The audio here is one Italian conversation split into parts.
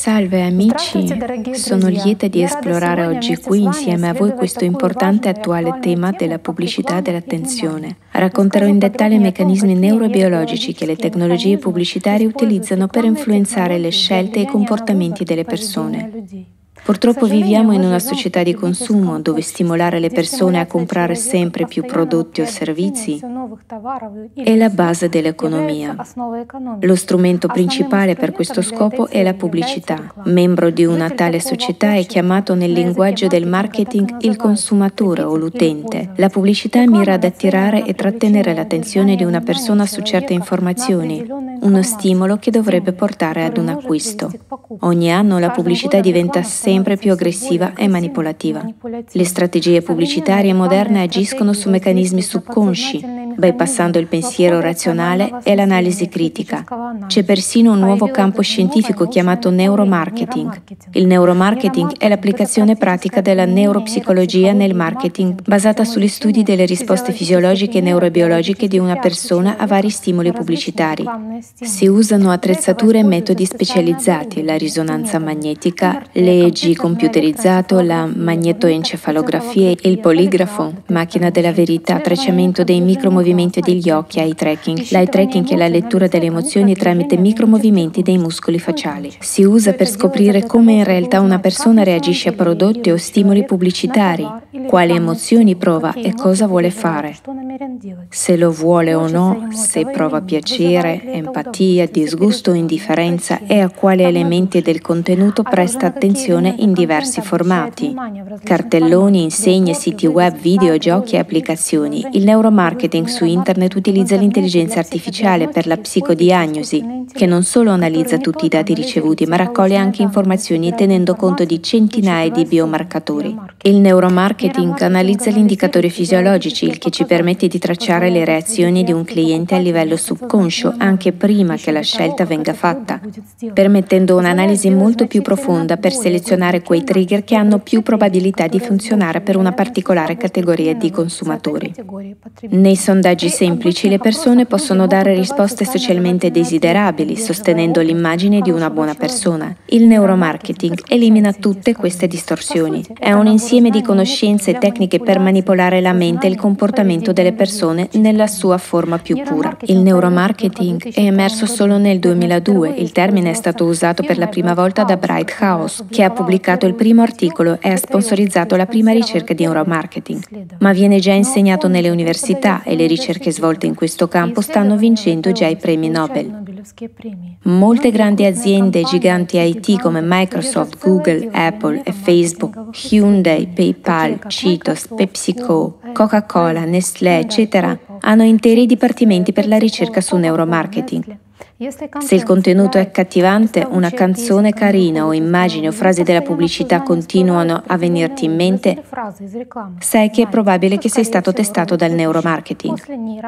Salve amici, sono lieta di esplorare oggi qui insieme a voi questo importante e attuale tema della pubblicità dell'attenzione. Racconterò in dettaglio i meccanismi neurobiologici che le tecnologie pubblicitarie utilizzano per influenzare le scelte e i comportamenti delle persone. Purtroppo viviamo in una società di consumo dove stimolare le persone a comprare sempre più prodotti o servizi è la base dell'economia. Lo strumento principale per questo scopo è la pubblicità. Membro di una tale società è chiamato nel linguaggio del marketing il consumatore o l'utente. La pubblicità mira ad attirare e trattenere l'attenzione di una persona su certe informazioni, uno stimolo che dovrebbe portare ad un acquisto. Ogni anno la pubblicità diventa sempre più aggressiva e manipolativa. Le strategie pubblicitarie moderne agiscono su meccanismi subconsci, bypassando il pensiero razionale e l'analisi critica. C'è persino un nuovo campo scientifico chiamato neuromarketing. Il neuromarketing è l'applicazione pratica della neuropsicologia nel marketing, basata sugli studi delle risposte fisiologiche e neurobiologiche di una persona a vari stimoli pubblicitari. Si usano attrezzature e metodi specializzati, la risonanza magnetica, l'EEG computerizzato, la magnetoencefalografia, il poligrafo, macchina della verità, tracciamento dei micromovimenti degli occhi, eye tracking. L'eye tracking è la lettura delle emozioni tramite micromovimenti dei muscoli facciali. Si usa per scoprire come in realtà una persona reagisce a prodotti o stimoli pubblicitari, quali emozioni prova e cosa vuole fare. Se lo vuole o no, se prova piacere, empatia, disgusto o indifferenza e a quali elementi del contenuto presta attenzione in diversi formati. Cartelloni, insegne, siti web, videogiochi e applicazioni. Il neuromarketing su internet utilizza l'intelligenza artificiale per la psicodiagnosi, che non solo analizza tutti i dati ricevuti, ma raccoglie anche informazioni tenendo conto di centinaia di biomarcatori. Il neuromarketing analizza gli indicatori fisiologici, il che ci permette di tracciare le reazioni di un cliente a livello subconscio anche prima che la scelta venga fatta, permettendo un'analisi molto più profonda per selezionare quei trigger che hanno più probabilità di funzionare per una particolare categoria di consumatori. Nei sondaggi semplici le persone possono dare risposte socialmente desiderabili, sostenendo l'immagine di una buona persona. Il neuromarketing elimina tutte queste distorsioni. È un insieme di conoscenze e tecniche per manipolare la mente e il comportamento delle persone nella sua forma più pura. Il neuromarketing è emerso solo nel 2002. Il termine è stato usato per la prima volta da Bright House, che ha pubblicato il primo articolo e ha sponsorizzato la prima ricerca di neuromarketing. Ma viene già insegnato nelle università e le ricerche svolte in questo campo stanno vincendo già i premi Nobel. Molte grandi aziende e giganti IT come Microsoft, Google, Apple e Facebook, Hyundai, PayPal, Cheetos, PepsiCo, Coca-Cola, Nestlé, eccetera, hanno interi dipartimenti per la ricerca su neuromarketing. Se il contenuto è accattivante, una canzone carina o immagini o frasi della pubblicità continuano a venirti in mente, sai che è probabile che sei stato testato dal neuromarketing.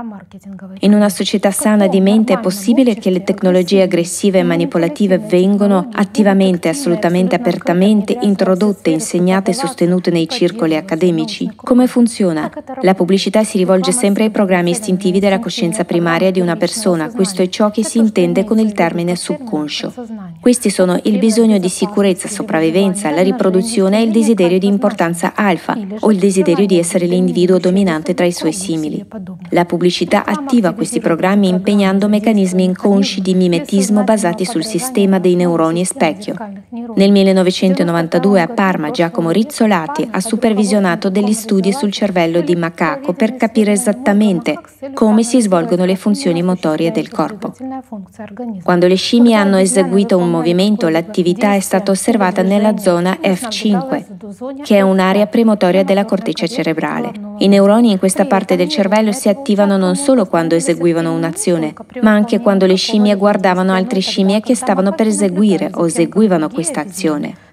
In una società sana di mente è possibile che le tecnologie aggressive e manipolative vengano attivamente, assolutamente apertamente introdotte, insegnate e sostenute nei circoli accademici? Come funziona? La pubblicità si rivolge sempre ai programmi istintivi della coscienza primaria di una persona. Questo è ciò che si intende con il termine subconscio. Questi sono il bisogno di sicurezza, sopravvivenza, la riproduzione e il desiderio di importanza alfa o il desiderio di essere l'individuo dominante tra i suoi simili. La pubblicità attiva questi programmi impegnando meccanismi inconsci di mimetismo basati sul sistema dei neuroni specchio. Nel 1992 a Parma Giacomo Rizzolatti ha supervisionato degli studi sul cervello di macaco per capire esattamente come si svolgono le funzioni motorie del corpo. Quando le scimmie hanno eseguito un movimento, l'attività è stata osservata nella zona F5, che è un'area premotoria della corteccia cerebrale. I neuroni in questa parte del cervello si attivano non solo quando eseguivano un'azione, ma anche quando le scimmie guardavano altre scimmie che stavano per eseguire o eseguivano questa azione.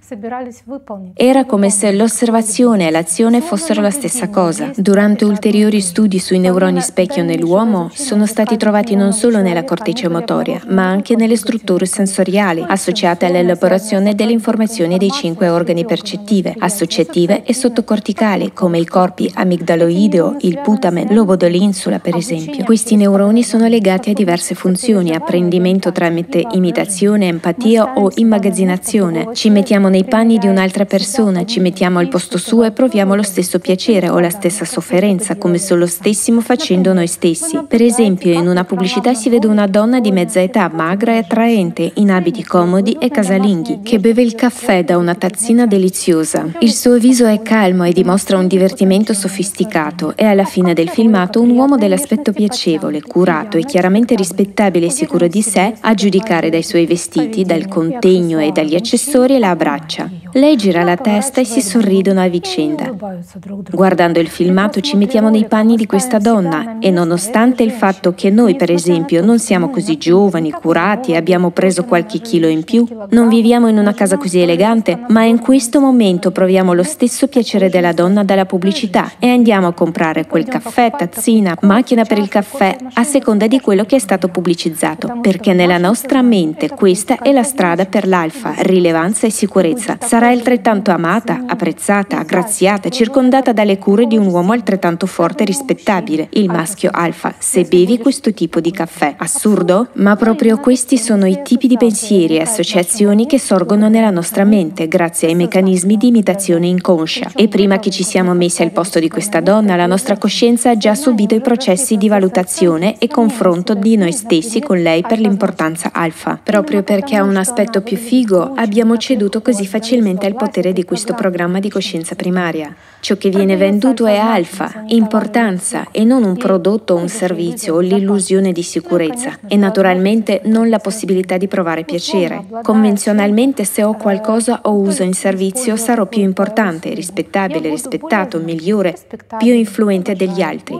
Era come se l'osservazione e l'azione fossero la stessa cosa. Durante ulteriori studi sui neuroni specchio nell'uomo, sono stati trovati non solo nella corteccia motoria, ma anche nelle strutture sensoriali, associate all'elaborazione delle informazioni dei 5 organi percettive, associative e sottocorticali, come i corpi amigdaloideo, il putame, lobo dell'insula, per esempio. Questi neuroni sono legati a diverse funzioni: apprendimento tramite imitazione, empatia o immagazzinazione. Ci mettiamo nei panni di un'altra persona, ci mettiamo al posto suo e proviamo lo stesso piacere o la stessa sofferenza, come se lo stessimo facendo noi stessi. Per esempio, in una pubblicità si vede una donna di mezza età, magra e attraente, in abiti comodi e casalinghi, che beve il caffè da una tazzina deliziosa. Il suo viso è calmo e dimostra un divertimento sofisticato, e alla fine del filmato un uomo dell'aspetto piacevole, curato e chiaramente rispettabile e sicuro di sé, a giudicare dai suoi vestiti, dal contegno e dagli accessori, la abbraccia. Lei gira la testa e si sorridono a vicenda. Guardando il filmato ci mettiamo nei panni di questa donna e, nonostante il fatto che noi, per esempio, non siamo così giovani, curati e abbiamo preso qualche chilo in più, non viviamo in una casa così elegante, ma in questo momento proviamo lo stesso piacere della donna dalla pubblicità e andiamo a comprare quel caffè, tazzina, macchina per il caffè, a seconda di quello che è stato pubblicizzato, perché nella nostra mente questa è la strada per l'alfa, rilevanza e sicurezza. Sarà altrettanto amata, apprezzata, aggraziata, circondata dalle cure di un uomo altrettanto forte e rispettabile, il maschio alfa, se bevi questo tipo di caffè. Assurdo? Ma proprio questi sono i tipi di pensieri e associazioni che sorgono nella nostra mente grazie ai meccanismi di imitazione inconscia. E prima che ci siamo messi al posto di questa donna, la nostra coscienza ha già subito i processi di valutazione e confronto di noi stessi con lei per l'importanza alfa. Proprio perché ha un aspetto più figo, abbiamo ceduto così facilmente al potere di questo programma di coscienza primaria. Ciò che viene venduto è alfa, importanza, e non un prodotto o un servizio o l'illusione di sicurezza, e naturalmente non la possibilità di provare piacere. Convenzionalmente, se ho qualcosa o uso in servizio, sarò più importante, rispettabile, rispettato, migliore, più influente degli altri.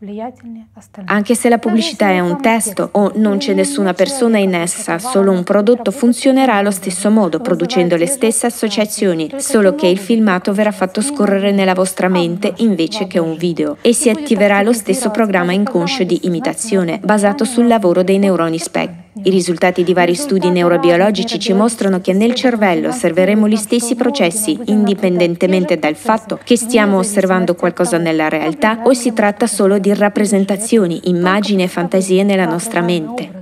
Anche se la pubblicità è un testo o non c'è nessuna persona in essa, solo un prodotto, funzionerà allo stesso modo, producendo le stesse associazioni, solo che il filmato verrà fatto scorrere nella vostra mente invece che un video, e si attiverà lo stesso programma inconscio di imitazione, basato sul lavoro dei neuroni specchio. I risultati di vari studi neurobiologici ci mostrano che nel cervello osserveremo gli stessi processi, indipendentemente dal fatto che stiamo osservando qualcosa nella realtà o si tratta solo di rappresentazioni, immagini e fantasie nella nostra mente.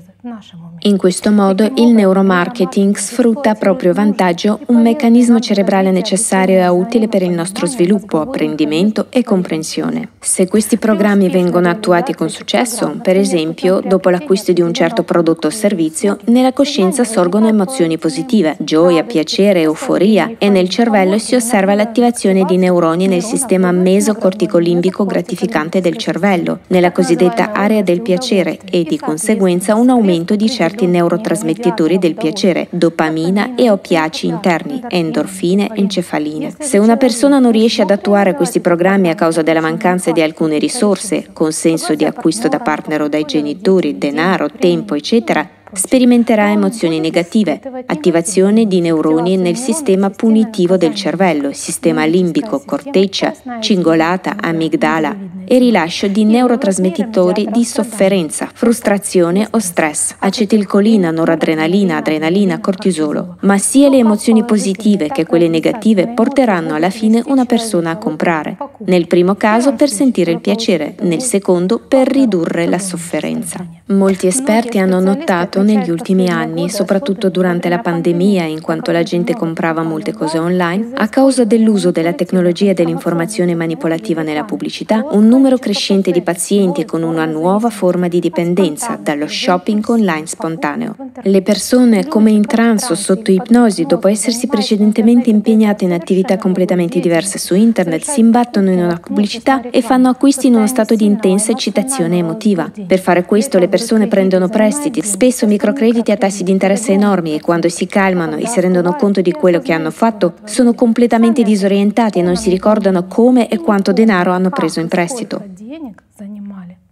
In questo modo il neuromarketing sfrutta a proprio vantaggio un meccanismo cerebrale necessario e utile per il nostro sviluppo, apprendimento e comprensione. Se questi programmi vengono attuati con successo, per esempio, dopo l'acquisto di un certo prodotto o servizio, nella coscienza sorgono emozioni positive, gioia, piacere, euforia, e nel cervello si osserva l'attivazione di neuroni nel sistema mesocorticolimbico gratificante del cervello, nella cosiddetta area del piacere, e di conseguenza un aumento di certi neurotrasmettitori del piacere, dopamina e oppiacei interni, endorfine e encefaline. Se una persona non riesce ad attuare questi programmi a causa della mancanza di alcune risorse, consenso di acquisto da partner o dai genitori, denaro, tempo, eccetera, sperimenterà emozioni negative, attivazione di neuroni nel sistema punitivo del cervello, sistema limbico, corteccia, cingolata, amigdala, e rilascio di neurotrasmettitori di sofferenza, frustrazione o stress, acetilcolina, noradrenalina, adrenalina, cortisolo. Ma sia le emozioni positive che quelle negative porteranno alla fine una persona a comprare. Nel primo caso per sentire il piacere, nel secondo per ridurre la sofferenza. Molti esperti hanno notato negli ultimi anni, soprattutto durante la pandemia, in quanto la gente comprava molte cose online, a causa dell'uso della tecnologia dell'informazione manipolativa nella pubblicità, un numero crescente di pazienti con una nuova forma di dipendenza dallo shopping online spontaneo. Le persone, come in trance o sotto ipnosi, dopo essersi precedentemente impegnate in attività completamente diverse su internet, si imbattono in una pubblicità e fanno acquisti in uno stato di intensa eccitazione emotiva. Per fare questo le persone prendono prestiti, spesso microcrediti a tassi di interesse enormi, e quando si calmano e si rendono conto di quello che hanno fatto, sono completamente disorientati e non si ricordano come e quanto denaro hanno preso in prestito.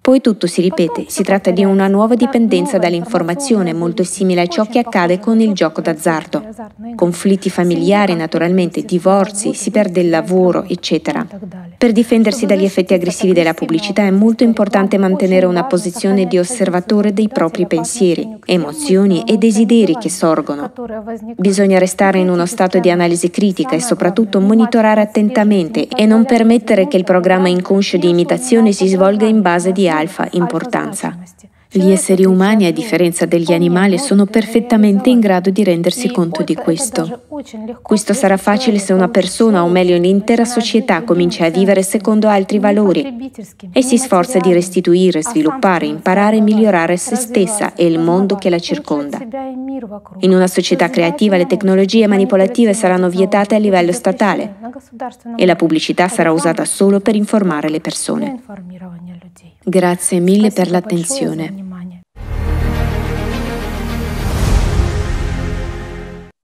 Poi tutto si ripete, si tratta di una nuova dipendenza dall'informazione, molto simile a ciò che accade con il gioco d'azzardo. Conflitti familiari, naturalmente, divorzi, si perde il lavoro, eccetera. Per difendersi dagli effetti aggressivi della pubblicità è molto importante mantenere una posizione di osservatore dei propri pensieri, emozioni e desideri che sorgono. Bisogna restare in uno stato di analisi critica e soprattutto monitorare attentamente e non permettere che il programma inconscio di imitazione si svolga in base di alfa importanza. Gli esseri umani, a differenza degli animali, sono perfettamente in grado di rendersi conto di questo. Questo sarà facile se una persona, o meglio l'intera società, comincia a vivere secondo altri valori e si sforza di restituire, sviluppare, imparare e migliorare se stessa e il mondo che la circonda. In una società creativa le tecnologie manipolative saranno vietate a livello statale e la pubblicità sarà usata solo per informare le persone. Grazie mille per l'attenzione.